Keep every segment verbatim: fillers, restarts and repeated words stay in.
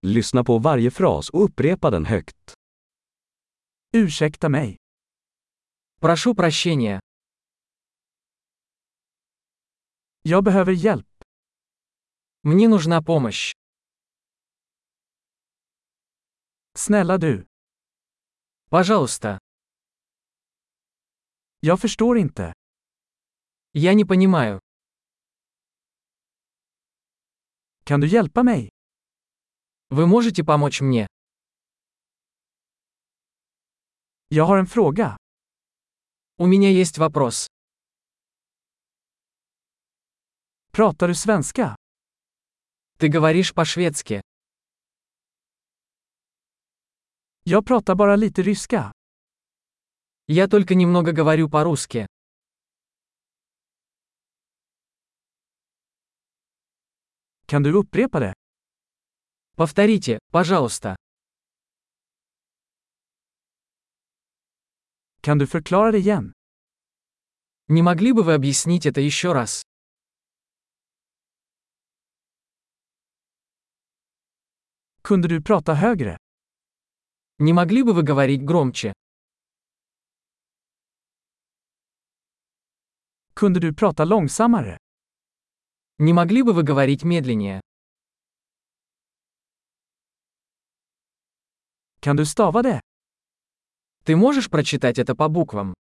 Lyssna på varje fras och upprepa den högt. Ursäkta mig. Прошу прощения. Jag behöver hjälp. Мне нужна помощь. Snälla du. Пожалуйста. Jag förstår inte. Я не понимаю. Kan du hjälpa mig? Вы можете помочь мне? Jag har en fråga. У меня есть вопрос. Pratar du svenska? Ты говоришь по-шведски. Jag pratar bara lite ryska. Я только немного говорю по-русски. Kan du upprepa det? Повторите, пожалуйста. Kan du förklara det igen? Не могли бы вы объяснить это еще раз? Kunde du prata högre? Не могли бы вы говорить громче? Kunde du prata långsammare? Не могли бы вы говорить медленнее? Kan du stava det? Ты можешь прочитать это по буквам?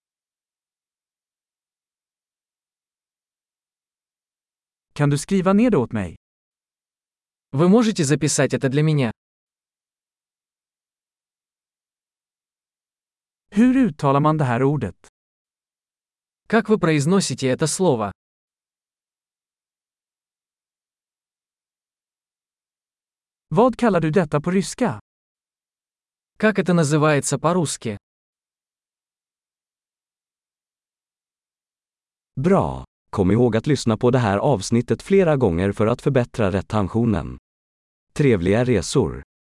Kan du skriva ner det åt mig? Вы можете записать это для меня? Hur uttalar man det här ordet? Как вы произносите это слово? Vad kallar du detta på ryska? Как это называется по-русски? Bra! Kom ihåg att lyssna på det här avsnittet flera gånger för att förbättra retentionen. Trevliga resor!